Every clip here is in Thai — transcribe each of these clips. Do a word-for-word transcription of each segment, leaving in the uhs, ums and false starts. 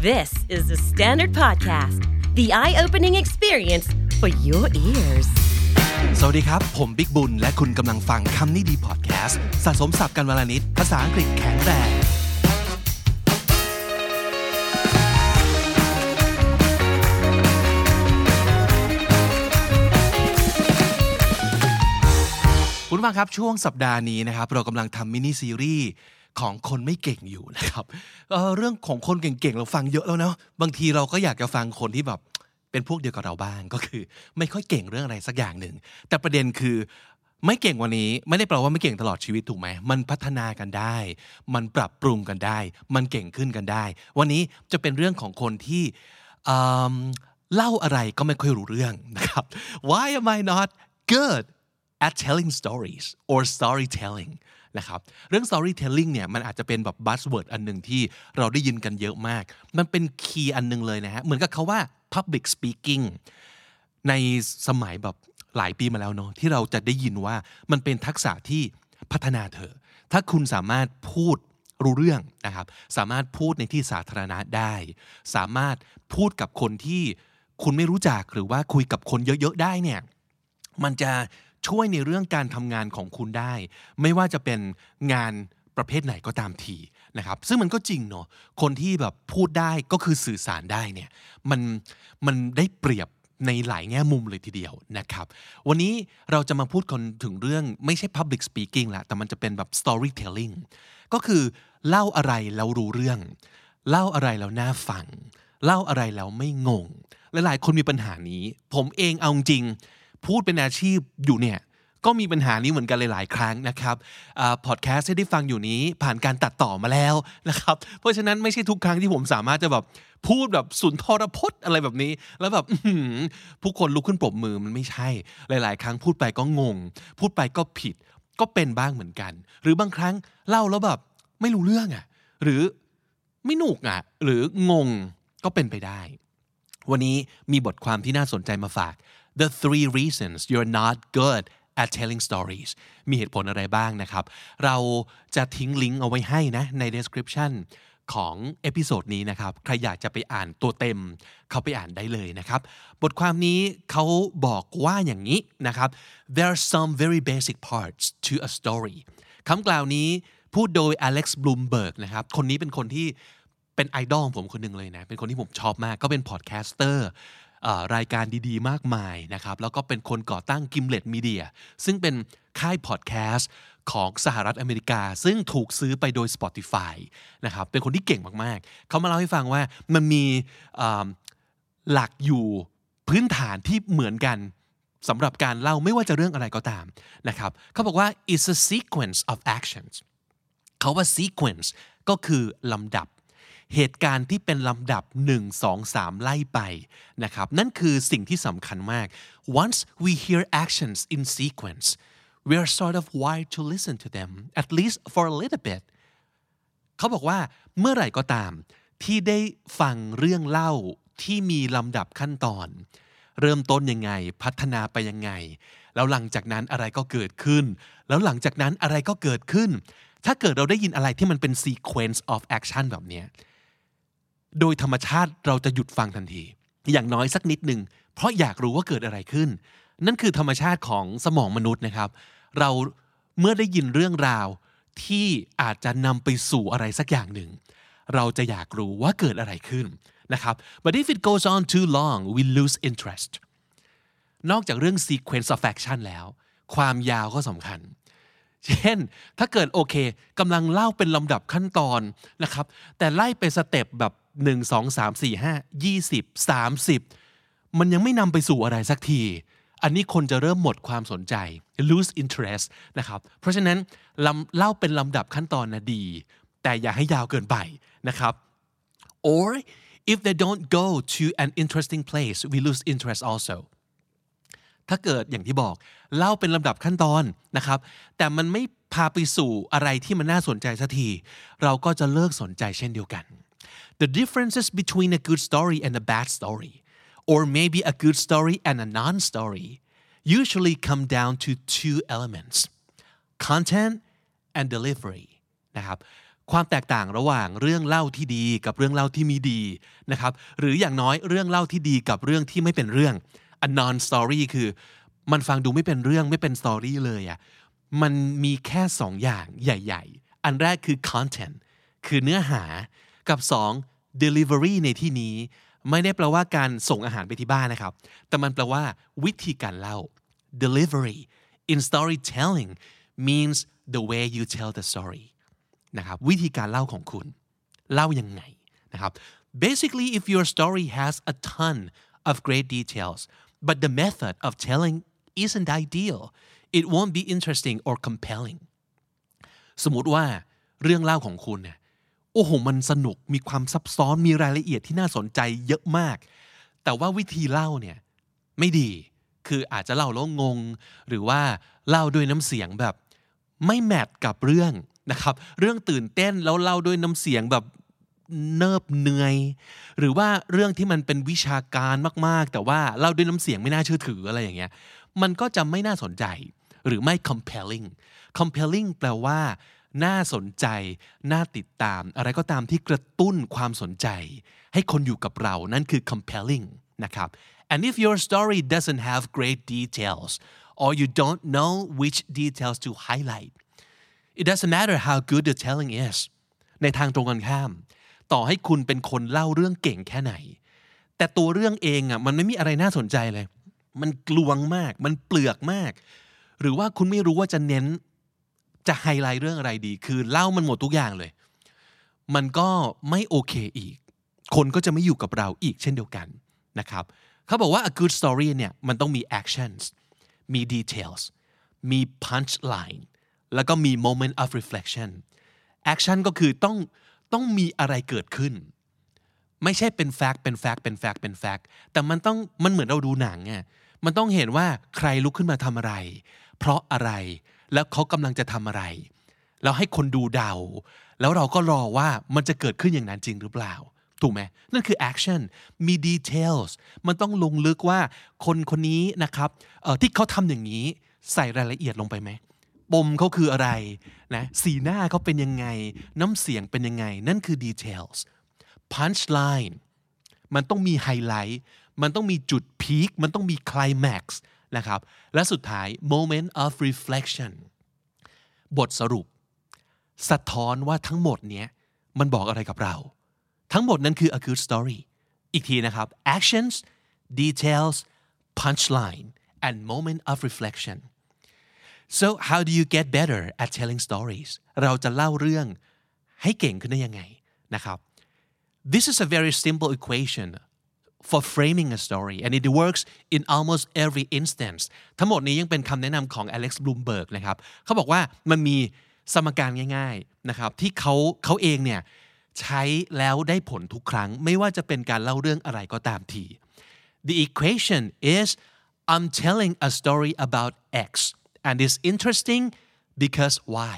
This is the Standard Podcast, the eye-opening experience for your ears. สวัสดีครับผมบิ๊กบุญและคุณกำลังฟังคำนี้ดีพอดแคสต์สะสมศัพท์กันวลนิดภาษาอังกฤษแข็งแรงคุณผู้ฟังครับช่วงสัปดาห์นี้นะครับเรากำลังทำมินิซีรีส์ของคนไม่เก่งอยู่นะครับ เอ่อ เรื่องของคนเก่งๆเราฟังเยอะแล้วเนาะบางทีเราก็อยากจะฟังคนที่แบบเป็นพวกเดียวกับเราบ้างก็คือไม่ค่อยเก่งเรื่องอะไรสักอย่างหนึ่งแต่ประเด็นคือไม่เก่งวันนี้ไม่ได้แปลว่าไม่เก่งตลอดชีวิตถูกไหมมันพัฒนากันได้มันปรับปรุงกันได้มันเก่งขึ้นกันได้วันนี้จะเป็นเรื่องของคนที่เล่าอะไรก็ไม่ค่อยรู้เรื่องนะครับ Why am I not good at telling stories or storytelling นะครับเรื่อง storytelling เนี่ยมันอาจจะเป็นแบบ buzzword อันหนึ่งที่เราได้ยินกันเยอะมากมันเป็นคีย์อันนึงเลยนะฮะเหมือนกับคาว่า public speaking ในสมัยแบบหลายปีมาแล้วเนาะที่เราจะได้ยินว่ามันเป็นทักษะที่พัฒนาเธอถ้าคุณสามารถพูดรู้เรื่องนะครับสามารถพูดในที่สาธารณะได้สามารถพูดกับคนที่คุณไม่รู้จักหรือว่าคุยกับคนเยอะๆได้เนี่ยมันจะช่วยในเรื่องการทำงานของคุณได้ไม่ว่าจะเป็นงานประเภทไหนก็ตามทีนะครับซึ่งมันก็จริงเนาะคนที่แบบพูดได้ก็คือสื่อสารได้เนี่ยมันมันได้เปรียบในหลายแง่มุมเลยทีเดียวนะครับวันนี้เราจะมาพูดกันถึงเรื่องไม่ใช่ public speaking ละแต่มันจะเป็นแบบ storytelling ก็คือเล่าอะไรแล้วรู้เรื่องเล่าอะไรแล้วน่าฟังเล่าอะไรแล้วไม่งงหลายๆคนมีปัญหานี้ผมเองเอาจริงพูดเป็นอาชีพอยู่เนี่ยก็มีปัญหานี้เหมือนกันหลายๆครั้งนะครับพอดแคสต์ที่ได้ฟังอยู่นี้ผ่านการตัดต่อมาแล้วนะครับเพราะฉะนั้นไม่ใช่ทุกครั้งที่ผมสามารถจะแบบพูดแบบสุนทรพจน์อะไรแบบนี้แล้วแบบผู้คนลุกขึ้นปรบมือมันไม่ใช่หลายๆครั้งพูดไปก็งงพูดไปก็ผิดก็เป็นบ้างเหมือนกันหรือบางครั้งเล่าแล้วแบบไม่รู้เรื่องอ่ะหรือไม่หนุกอ่ะหรืองงก็เป็นไปได้วันนี้มีบทความที่น่าสนใจมาฝาก The three reasons you're not good at telling stories มีเหตุผลอะไรบ้างนะครับเราจะทิ้งลิงก์เอาไว้ให้นะใน description ของเอพิโซดนี้นะครับใครอยากจะไปอ่านตัวเต็มเข้าไปอ่านได้เลยนะครับบทความนี้เขาบอกว่าอย่างนี้นะครับ There are some very basic parts to a story คำกล่าวนี้พูดโดย Alex Blumberg นะครับคนนี้เป็นคนที่เป็นไอดอลของผมคนหนึ่งเลยนะเป็นคนที่ผมชอบมากก็เป็นพอดแคสเตอร์รายการดีๆมากมายนะครับแล้วก็เป็นคนก่อตั้ง Gimlet Media ซึ่งเป็นค่ายพอดแคสต์ของสหรัฐอเมริกาซึ่งถูกซื้อไปโดย Spotify นะครับเป็นคนที่เก่งมากๆเขามาเล่าให้ฟังว่ามันมีหลักอยู่พื้นฐานที่เหมือนกันสำหรับการเล่าไม่ว่าจะเรื่องอะไรก็ตามนะครับเขาบอกว่า it's a sequence of actions เขาว่า sequence ก็คือลำดับเหตุการณ์ที่เป็นลำดับหนึ่ง สอง สามไล่ไปนะครับนั่นคือสิ่งที่สำคัญมาก once we hear actions in sequence we are sort of wired to listen to them at least for a little bit เขาบอกว่าเมื่อไหร่ก็ตามที่ได้ฟังเรื่องเล่าที่มีลำดับขั้นตอนเริ่มต้นยังไงพัฒนาไปยังไงแล้วหลังจากนั้นอะไรก็เกิดขึ้นแล้วหลังจากนั้นอะไรก็เกิดขึ้นถ้าเกิดเราได้ยินอะไรที่มันเป็น sequence of action แบบนี้โดยธรรมชาติเราจะหยุดฟังทันทีอย่างน้อยสักนิดหนึ่งเพราะอยากรู้ว่าเกิดอะไรขึ้นนั่นคือธรรมชาติของสมองมนุษย์นะครับเราเมื่อได้ยินเรื่องราวที่อาจจะนำไปสู่อะไรสักอย่างหนึ่งเราจะอยากรู้ว่าเกิดอะไรขึ้นนะครับ but if it goes on too long we lose interest นอกจากเรื่อง sequence of action แล้วความยาวก็สำคัญเช่นถ้าเกิดโอเคกำลังเล่าเป็นลำดับขั้นตอนนะครับแต่ไล่ไปสเต็ปแบบหนึ่ง สอง สาม สี่ ห้า ยี่สิบ สามสิบมันยังไม่นำไปสู่อะไรสักทีอันนี้คนจะเริ่มหมดความสนใจ lose interest นะครับเพราะฉะนั้นเล่าเป็นลำดับขั้นตอนนะดีแต่อย่าให้ยาวเกินไปนะครับ or if they don't go to an interesting place we lose interest also ถ้าเกิดอย่างที่บอกเล่าเป็นลำดับขั้นตอนนะครับแต่มันไม่พาไปสู่อะไรที่มันน่าสนใจสักทีเราก็จะเลิกสนใจเช่นเดียวกัน The differences between a good story and a bad story or maybe a good story and a non-story usually come down to two elements content and delivery นะครับความแตกต่างระหว่างเรื่องเล่าที่ดีกับเรื่องเล่าที่มีดีนะครับหรืออย่างน้อยเรื่องเล่าที่ดีกับเรื่องที่ไม่เป็นเรื่อง a non story คือมันฟังดูไม่เป็นเรื่องไม่เป็นสตอรี่เลยอ่ะมันมีแค่สองอย่างใหญ่ๆอันแรกคือ content คือเนื้อหากับสอง delivery ในที่นี้ไม่ได้แปลว่าการส่งอาหารไปที่บ้านนะครับแต่มันแปลว่าวิธีการเล่า delivery in storytelling means the way you tell the story นะครับวิธีการเล่าของคุณเล่ายังไงนะครับ basically if your story has a ton of great details but the method of telling isn't ideal it won't be interesting or compelling สมมุติว่าเรื่องเล่าของคุณเนี่ยโอ้โหมันสนุกมีความซับซ้อนมีรายละเอียดที่น่าสนใจเยอะมากแต่ว่าวิธีเล่าเนี่ยไม่ดีคืออาจจะเล่าแล้วงงหรือว่าเล่าด้วยน้ำเสียงแบบไม่แมทกับเรื่องนะครับเรื่องตื่นเต้นแล้วเล่าด้วยน้ำเสียงแบบเนิบเหนื่อยหรือว่าเรื่องที่มันเป็นวิชาการมากๆแต่ว่าเล่าด้วยน้ำเสียงไม่น่าเชื่อถืออะไรอย่างเงี้ยมันก็จะไม่น่าสนใจหรือไม่ compelling compelling แปลว่าน่าสนใจน่าติดตามอะไรก็ตามที่กระตุ้นความสนใจให้คนอยู่กับเรานั่นคือ compelling นะครับ and if your story doesn't have great details or you don't know which details to highlight it doesn't matter how good the telling is ในทางตรงกันข้ามต่อให้คุณเป็นคนเล่าเรื่องเก่งแค่ไหนแต่ตัวเรื่องเองอ่ะมันไม่มีอะไรน่าสนใจเลยมันกลวงมากมันเปลือกมากหรือว่าคุณไม่รู้ว่าจะเน้นจะไฮไลท์เรื่องอะไรดีคือเล่ามันหมดทุกอย่างเลยมันก็ไม่โอเคอีกคนก็จะไม่อยู่กับเราอีกเช่นเดียวกันนะครับเขาบอกว่า a good story เนี่ยมันต้องมี actions มี details มี punchline แล้วก็มี moment of reflection action ก็คือต้องต้องมีอะไรเกิดขึ้นไม่ใช่เป็น fact เป็น fact เป็น fact เป็น fact แต่มันต้องมันเหมือนเราดูหนังไงมันต้องเห็นว่าใครลุกขึ้นมาทำอะไรเพราะอะไรแล้วเขากำลังจะทำอะไรแล้วให้คนดูเดาแล้วเราก็รอว่ามันจะเกิดขึ้นอย่างนั้นจริงหรือเปล่าถูกไหมนั่นคือ action มี details มันต้องลงลึกว่าคนคนนี้นะครับเอ่อที่เขาทำอย่างนี้ใส่รายละเอียดลงไปไหมปมเขาคืออะไรนะสีหน้าเขาเป็นยังไงน้ำเสียงเป็นยังไงนั่นคือ details punchline มันต้องมีไฮไลท์มันต้องมีจุดพีคมันต้องมี climax นะครับและสุดท้าย moment of reflection บทสรุปสะท้อนว่าทั้งหมดเนี้ยมันบอกอะไรกับเราทั้งหมดนั้นคือ a good story อีกทีนะครับ actions details punchline and moment of reflection so how do you get better at telling stories เราจะเล่าเรื่องให้เก่งขึ้นได้ยังไงนะครับ this is a very simple equation for framing a story and it works in almost every instance ทั้งหมดนี้ยังเป็นคำแนะนำของ Alex Blumberg นะครับเขาบอกว่ามันมีสมการง่ายๆนะครับที่เขาเขาเองเนี่ยใช้แล้วได้ผลทุกครั้งไม่ว่าจะเป็นการเล่าเรื่องอะไรก็ตามที The equation is I'm telling a story about X and it's interesting because Y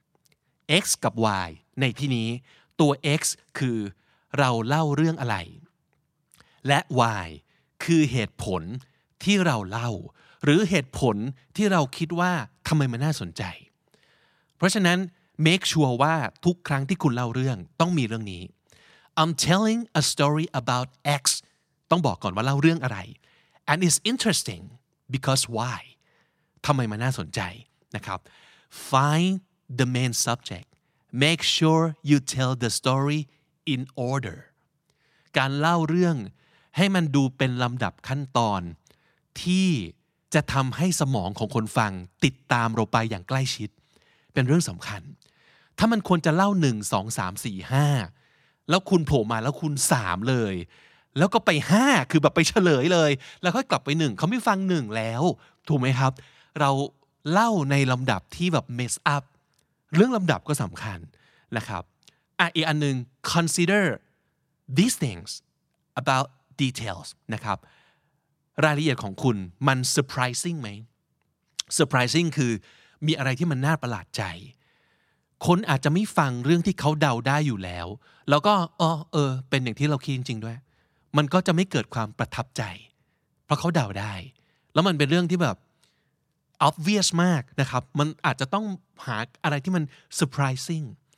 X กับ Y ในที่นี้ตัว X คือเราเล่าเรื่องอะไรและ Y คือเหตุผลที่เราเล่าหรือเหตุผลที่เราคิดว่าทำไมมันน่าสนใจเพราะฉะนั้น make sure ว่าทุกครั้งที่คุณเล่าเรื่องต้องมีเรื่องนี้ I'm telling a story about X ต้องบอกก่อนว่าเล่าเรื่องอะไร and it's interesting because why ทำไมมันน่าสนใจนะครับ find the main subject make sure you tell the story in order การเล่าเรื่องให้มันดูเป็นลำดับขั้นตอนที่จะทำให้สมองของคนฟังติดตามเราไปอย่างใกล้ชิดเป็นเรื่องสำคัญถ้ามันควรจะเล่าหนึ่ง สอง สาม สี่ ห้าแล้วคุณโผล่มาแล้วคุณสามเลยแล้วก็ไปห้าคือแบบไปเฉลยเลยแล้วค่อยกลับไปหนึ่งเขาไม่ฟังหนึ่งแล้วถูกไหมครับเราเล่าในลำดับที่แบบ mess up เรื่องลำดับก็สำคัญนะครับอ่ะอีกอันนึง consider these things about details นะครับรายละเอียดของคุณมัน surprising ไหม surprising คือมีอะไรที่มันน่าประหลาดใจคนอาจจะไม่ฟังเรื่องที่เขาเดาได้อยู่แล้วแล้วก็อ๋อเออเป็นอย่างที่เราคิดจริงๆด้วยมันก็จะไม่เกิดความประทับใจเพราะเขาเดาได้แล้วมันเป็นเรื่องที่แบบ obvious มากนะครับมันอาจจะต้องหาอะไรที่มัน surprising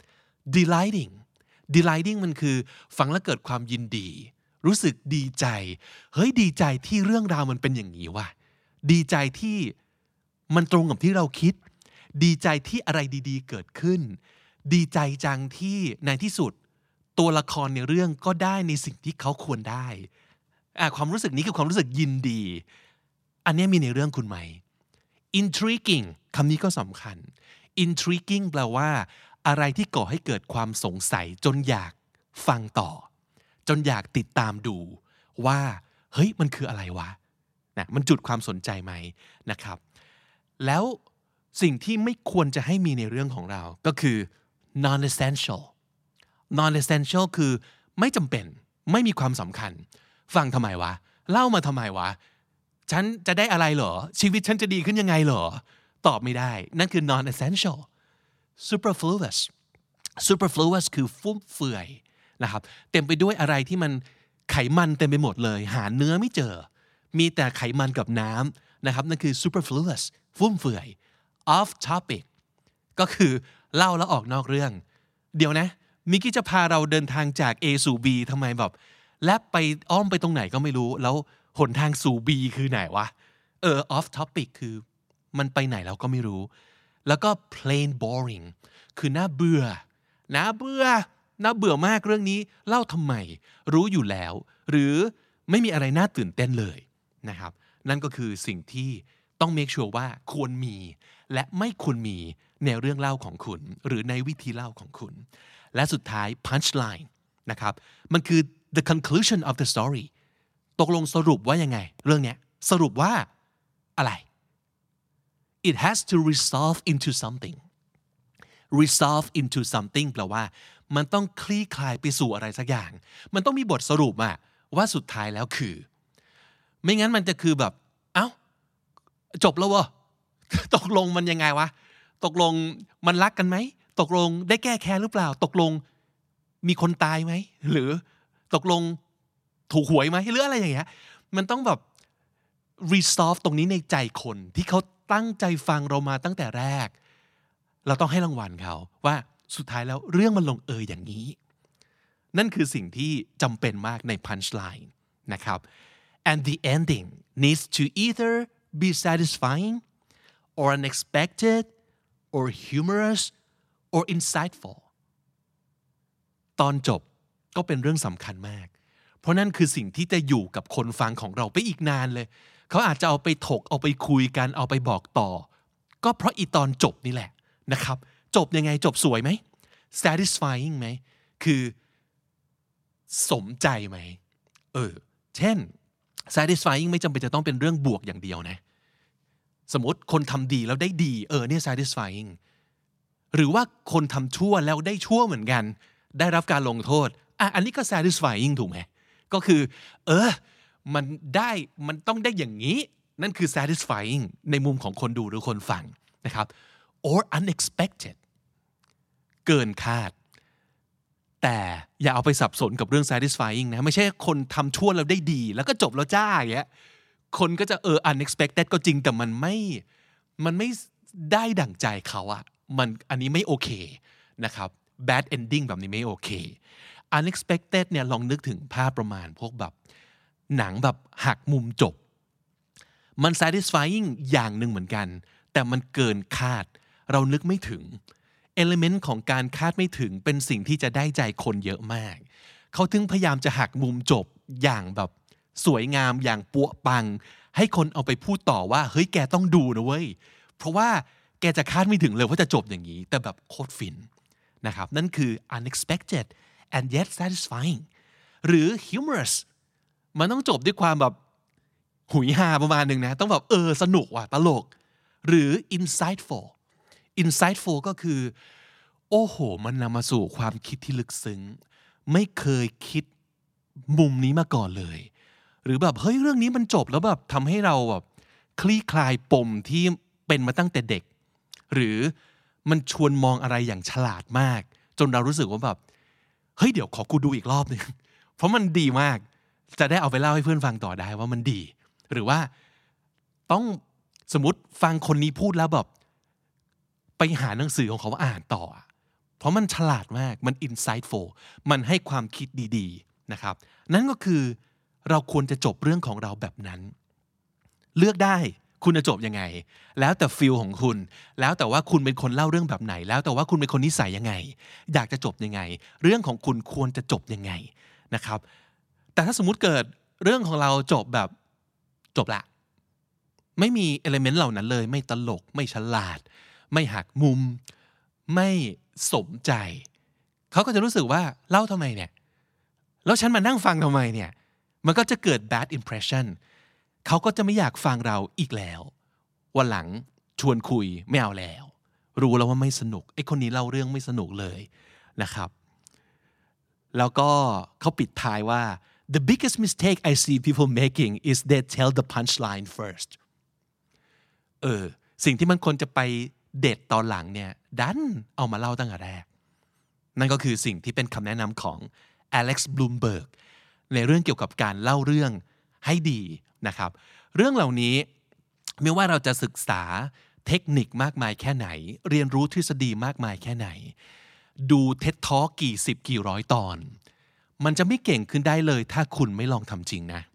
delighting delighting มันคือฟังแล้วเกิดความยินดีรู้สึกดีใจเฮ้ยดีใจที่เรื่องราวมันเป็นอย่างนี้ว่ะดีใจที่มันตรงกับที่เราคิดดีใจที่อะไรดีๆเกิดขึ้นดีใจจังที่ในที่สุดตัวละครในเรื่องก็ได้ในสิ่งที่เขาควรได้อ่ะความรู้สึกนี้คือความรู้สึกยินดีอันนี้มีในเรื่องคุณไหม intriguing คำนี้ก็สำคัญ intriguing แปลว่าอะไรที่ก่อให้เกิดความสงสัยจนอยากฟังต่อจนอยากติดตามดูว่าเฮ้ยมันคืออะไรวะนะมันจุดความสนใจไหมนะครับแล้วสิ่งที่ไม่ควรจะให้มีในเรื่องของเราก็คือ non-essential non-essential คือไม่จำเป็นไม่มีความสำคัญฟังทำไมวะเล่ามาทำไมวะฉันจะได้อะไรเหรอชีวิตฉันจะดีขึ้นยังไงเหรอตอบไม่ได้นั่นคือ non-essential superfluous superfluous คือฟุ่มเฟือยนะครับเต็มไปด้วยอะไรที่มันไขมันเต็มไปหมดเลยหาเนื้อไม่เจอมีแต่ไขมันกับน้ำนะครับนั่นคือ superfluous ฟุ่มเฟือย off topic ก็คือเล่าแล้วออกนอกเรื่องเดี๋ยวนะมิกกี้จะพาเราเดินทางจาก A สู่ B ทำไมแบบและไปอ้อมไปตรงไหนก็ไม่รู้แล้วหนทางสู่ B คือไหนวะเออ off topic คือมันไปไหนเราก็ไม่รู้แล้วก็ plain boring คือน่าเบื่อน่าเบื่อน่าเบื่อมากเรื่องนี้เล่าทำไมรู้อยู่แล้วหรือไม่มีอะไรน่าตื่นเต้นเลยนะครับนั่นก็คือสิ่งที่ต้อง make sure ว่าควรมีและไม่ควรมีในเรื่องเล่าของคุณหรือในวิธีเล่าของคุณและสุดท้าย punchline นะครับมันคือ the conclusion of the story ตกลงสรุปว่ายังไงเรื่องนี้สรุปว่าอะไร it has to resolve into something resolve into something แปลว่ามันต้องคลี่คลายไปสู่อะไรสักอย่างมันต้องมีบทสรุปอะว่าสุดท้ายแล้วคือไม่งั้นมันจะคือแบบเอ้าจบแล้ววะตกลงมันยังไงวะตกลงมันรักกันไหมตกลงได้แก้แค้นหรือเปล่าตกลงมีคนตายไหมหรือตกลงถูกหวยไหมหรืออะไรอย่างเงี้ยมันต้องแบบ resolve ตรงนี้ในใจคนที่เขาตั้งใจฟังเรามาตั้งแต่แรกเราต้องให้รางวัลเขาว่าสุดท้ายแล้วเรื่องมันลงเอยอย่างนี้นั่นคือสิ่งที่จำเป็นมากใน punchline นะครับ and the ending needs to either be satisfying or unexpected or humorous or insightful ตอนจบก็เป็นเรื่องสำคัญมากเพราะนั่นคือสิ่งที่จะอยู่กับคนฟังของเราไปอีกนานเลยเขาอาจจะเอาไปถกเอาไปคุยกันเอาไปบอกต่อก็เพราะอีตอนจบนี่แหละนะครับจบยังไงจบสวยไหม satisfying ไหมคือสมใจไหมเออเช่น satisfying ไม่จำเป็นจะต้องเป็นเรื่องบวกอย่างเดียวนะสมมติคนทำดีแล้วได้ดีเออเนี่ย satisfying หรือว่าคนทำชั่วแล้วได้ชั่วเหมือนกันได้รับการลงโทษอ่ะอันนี้ก็ satisfying ถูกไหมก็คือเออมันได้มันต้องได้อย่างนี้นั่นคือ satisfying ในมุมของคนดูหรือคนฟังนะครับ or unexpected เกินคาดแต่อย่าเอาไปสับสนกับเรื่อง satisfying นะไม่ใช่คนทำชั่วแล้วได้ดีแล้วก็จบแล้วจ้าอย่างเงี้ยคนก็จะเออ unexpected ก็จริงแต่มันไม่มันไม่ได้ดั่งใจเขาอะมันอันนี้ไม่โอเคนะครับ bad ending แบบนี้ไม่โอเค unexpected เนี่ยลองนึกถึงภาพประมาณพวกแบบหนังแบบหักมุมจบมัน satisfying อย่างหนึ่งเหมือนกันแต่มันเกินคาดเรานึกไม่ถึง element ของการคาดไม่ถึงเป็นสิ่งที่จะได้ใจคนเยอะมากเขาถึงพยายามจะหักมุมจบอย่างแบบสวยงามอย่างปัวปังให้คนเอาไปพูดต่อว่าเฮ้ยแกต้องดูนะเว้ยเพราะว่าแกจะคาดไม่ถึงเลยว่าจะจบอย่างนี้แต่แบบโคตรฟินนะครับนั่นคือ unexpected and yet satisfying หรือ humorous มันต้องจบด้วยความแบบหุยฮาประมาณหนึ่งนะต้องแบบเออสนุกว่ะตลกหรือ insightful insightful ก็คือโอ้โหมันนำมาสู่ความคิดที่ลึกซึ้งไม่เคยคิดมุมนี้มาก่อนเลยหรือแบบเฮ้ยเรื่องนี้มันจบแล้วแบบทำให้เราแบบคลี่คลายปมที่เป็นมาตั้งแต่เด็กหรือมันชวนมองอะไรอย่างฉลาดมากจนเรารู้สึกว่าแบบเฮ้ยเดี๋ยวขอกูดูอีกรอบนึงเพราะมันดีมากจะได้เอาไปเล่าให้เพื่อนฟังต่อได้ว่ามันดีหรือว่าต้องสมมติฟังคนนี้พูดแล้วแบบไปหาหนังสือของเขาอ่านต่อเพราะมันฉลาดมากมัน insightful มันให้ความคิดดีๆนะครับนั่นก็คือเราควรจะจบเรื่องของเราแบบนั้นเลือกได้คุณจะจบยังไงแล้วแต่ฟีลของคุณแล้วแต่ว่าคุณเป็นคนเล่าเรื่องแบบไหนแล้วแต่ว่าคุณเป็นคนนิสัยยังไงอยากจะจบยังไงเรื่องของคุณควรจะจบยังไงนะครับแต่ถ้าสมมุติเกิดเรื่องของเราจบแบบจบละไม่มีเอลิเมนต์เหล่านั้นเลยไม่ตลกไม่ฉลาดไม่หักมุมไม่สมใจเขาก็จะรู้สึกว่าเล่าทำไมเนี่ยแล้วฉันมานั่งฟังทำไมเนี่ยมันก็จะเกิด bad impression เขาก็จะไม่อยากฟังเราอีกแล้ววันหลังชวนคุยไม่เอาแล้วรู้แล้วว่าไม่สนุกไอ้คนนี้เล่าเรื่องไม่สนุกเลยนะครับแล้วก็เขาปิดท้ายว่า the biggest mistake I see people making is they tell the punchline first เออสิ่งที่มันควรจะไปเด็ดตอนหลังเนี่ยดันเอามาเล่าตั้งแต่แรกนั่นก็คือสิ่งที่เป็นคำแนะนำของ Alex Blumberg ในเรื่องเกี่ยวกับการเล่าเรื่องให้ดีนะครับเรื่องเหล่านี้ไม่ว่าเราจะศึกษาเทคนิคมากมายแค่ไหนเรียนรู้ทฤษฎีมากมายแค่ไหนดูเท็ดทอล์กกี่สิบกี่ร้อยตอนมันจะไม่เก่งขึ้นได้เลยถ้าคุณไม่ลองทำจริงนะ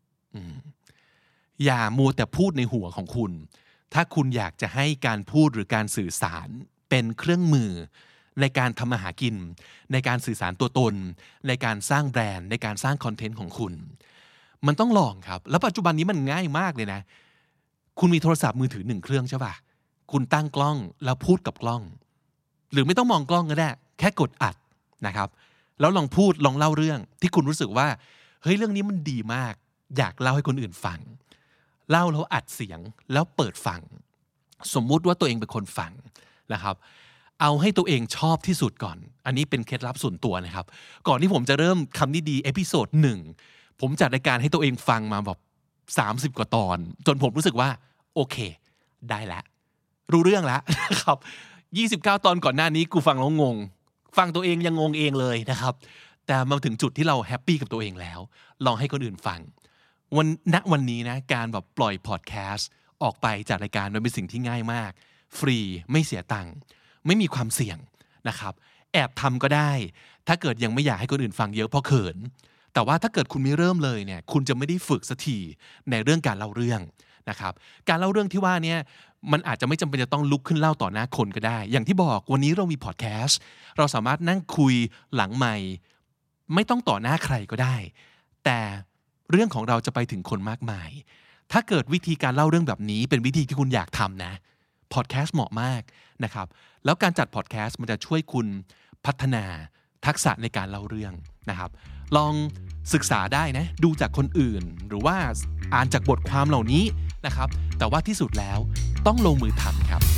อย่ามัวแต่พูดในหัวของคุณถ้าคุณอยากจะให้การพูดหรือการสื่อสารเป็นเครื่องมือในการทำมาหากินในการสื่อสารตัวตนในการสร้างแบรนด์ในการสร้างคอนเทนต์ของคุณมันต้องลองครับแล้วปัจจุบันนี้มันง่ายมากเลยนะคุณมีโทรศัพท์มือถือหนึ่งเครื่องใช่ป่ะคุณตั้งกล้องแล้วพูดกับกล้องหรือไม่ต้องมองกล้องก็ได้แค่กดอัดนะครับแล้วลองพูดลองเล่าเรื่องที่คุณรู้สึกว่าเฮ้ยเรื่องนี้มันดีมากอยากเล่าให้คนอื่นฟังเล่าแล้วอัดเสียงแล้วเปิดฟังสมมุติว่าตัวเองเป็นคนฟังนะครับเอาให้ตัวเองชอบที่สุดก่อนอันนี้เป็นเคล็ดลับส่วนตัวนะครับก่อนที่ผมจะเริ่มคำนี้ดีเอพิโซดหนึ่งผมจัดรายการให้ตัวเองฟังมาแบบสามสิบกว่าตอนจนผมรู้สึกว่าโอเคได้แล้วรู้เรื่องแล้วนะครับยี่สิบเก้าตอนก่อนหน้านี้กูฟังแล้วงงฟังตัวเองยังงงเองเลยนะครับแต่มาถึงจุดที่เราแฮปปี้กับตัวเองแล้วลองให้คนอื่นฟังวันณวันนี้นะการแบบปล่อยพอดแคสต์ออกไปจากรายการมันเป็นสิ่งที่ง่ายมากฟรีไม่เสียตังค์ไม่มีความเสี่ยงนะครับแอบทำก็ได้ถ้าเกิดยังไม่อยากให้คนอื่นฟังเยอะเพราะเขินแต่ว่าถ้าเกิดคุณไม่เริ่มเลยเนี่ยคุณจะไม่ได้ฝึกสักทีในเรื่องการเล่าเรื่องนะครับการเล่าเรื่องที่ว่าเนี่ยมันอาจจะไม่จำเป็นจะต้องลุกขึ้นเล่าต่อหน้าคนก็ได้อย่างที่บอกวันนี้เรามีพอดแคสต์เราสามารถนั่งคุยหลังไมค์ไม่ต้องต่อหน้าใครก็ได้แต่เรื่องของเราจะไปถึงคนมากมายถ้าเกิดวิธีการเล่าเรื่องแบบนี้เป็นวิธีที่คุณอยากทำนะพอดแคสต์เหมาะมากนะครับแล้วการจัดพอดแคสต์มันจะช่วยคุณพัฒนาทักษะในการเล่าเรื่องนะครับลองศึกษาได้นะดูจากคนอื่นหรือว่าอ่านจากบทความเหล่านี้นะครับแต่ว่าที่สุดแล้วต้องลงมือทำครับ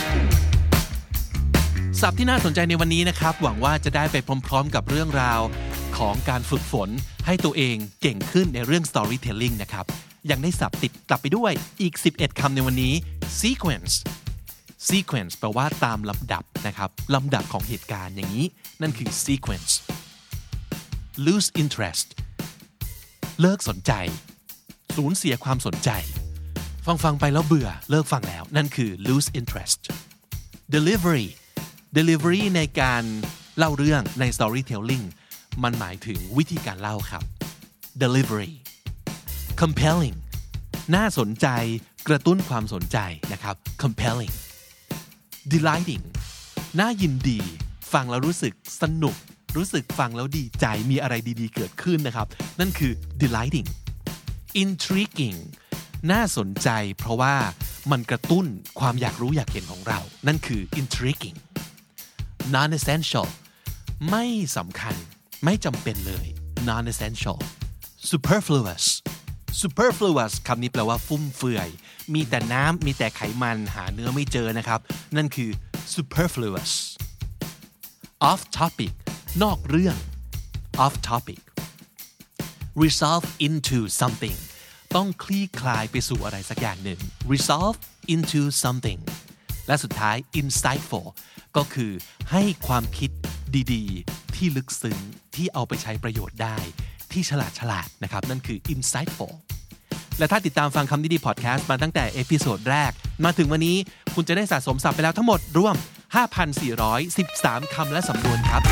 ศัพท์ที่น่าสนใจในวันนี้นะครับหวังว่าจะได้ไปพร้อมๆกับเรื่องราวของการฝึกฝนให้ตัวเองเก่งขึ้นในเรื่อง storytelling นะครับยังได้ศัพท์ติดกลับไปด้วยอีกสิบเอ็ดคำในวันนี้ sequence sequence แปลว่าตามลำดับนะครับลำดับของเหตุการณ์อย่างนี้นั่นคือ sequence lose interest เลิกสนใจสูญเสียความสนใจฟังฟังไปแล้วเบื่อเลิกฟังแล้วนั่นคือ lose interest delivery delivery ในการเล่าเรื่องใน storytelling มันหมายถึงวิธีการเล่าครับ delivery compelling น่าสนใจกระตุ้นความสนใจนะครับ compelling delighting น่ายินดีฟังแล้วรู้สึกสนุกรู้สึกฟังแล้วดีใจมีอะไรดีๆเกิดขึ้นนะครับนั่นคือ delighting intriguing น่าสนใจเพราะว่ามันกระตุ้นความอยากรู้อยากเห็นของเรานั่นคือ intriguing non-essential ไม่สำคัญไม่จำเป็นเลย non-essential superfluous superfluous คำนี้แปลว่าฟุ่มเฟือยมีแต่น้ำมีแต่ไขมันหาเนื้อไม่เจอนะครับนั่นคือ superfluous off topic นอกเรื่อง off topic resolve into something ต้องคลี่คลายไปสู่อะไรสักอย่างหนึ่ง resolve into something และสุดท้าย insightful ก็คือให้ความคิดดีๆที่ลึกซึ้งที่เอาไปใช้ประโยชน์ได้ที่ฉลาดฉลาดนะครับนั่นคือ insightful และถ้าติดตามฟังคำดีๆพอดแคสต์มาตั้งแต่เอพิโซดแรกมาถึงวันนี้คุณจะได้สะสมศัพท์ไปแล้วทั้งหมดรวมห้าพันสี่ร้อยสิบสาม คำและสำนวนครับ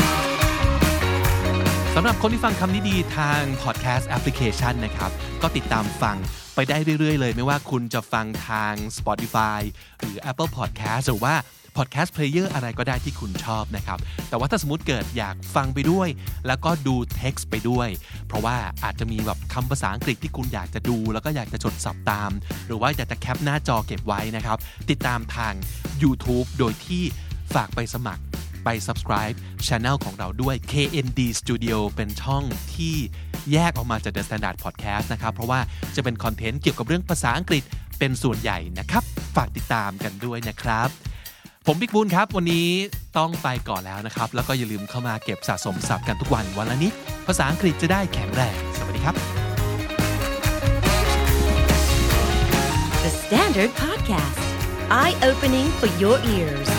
สำหรับคนที่ฟังคำนี้ดีทาง podcast application นะครับก็ติดตามฟังไปได้เรื่อยๆเลยไม่ว่าคุณจะฟังทาง Spotify หรือ Apple Podcast หรือว่า Podcast Player อะไรก็ได้ที่คุณชอบนะครับแต่ว่าถ้าสมมุติเกิดอยากฟังไปด้วยแล้วก็ดู text ไปด้วยเพราะว่าอาจจะมีแบบคำภาษาอังกฤษที่คุณอยากจะดูแล้วก็อยากจะจดศัพท์ตามหรือว่าอยากจะแคปหน้าจอเก็บไว้นะครับติดตามทาง YouTube โดยที่ฝากไปสมัครไป subscribe channel ของเราด้วย เค เอ็น ดี Studio เป็นช่องที่แยกออกมาจาก The Standard Podcast นะครับเพราะว่าจะเป็นคอนเทนต์เกี่ยวกับเรื่องภาษาอังกฤษเป็นส่วนใหญ่นะครับฝากติดตามกันด้วยนะครับผมบิ๊กบูนครับวันนี้ต้องไปก่อนแล้วนะครับแล้วก็อย่าลืมเข้ามาเก็บสะสมศัพท์กันทุกวันวันละนิดภาษาอังกฤษจะได้แข็งแรงสวัสดีครับ The Standard Podcast Eye Opening for Your Ears